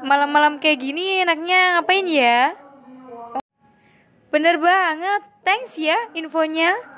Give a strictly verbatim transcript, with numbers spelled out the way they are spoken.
malam-malam kayak gini enaknya ngapain ya? Bener banget, thanks ya infonya.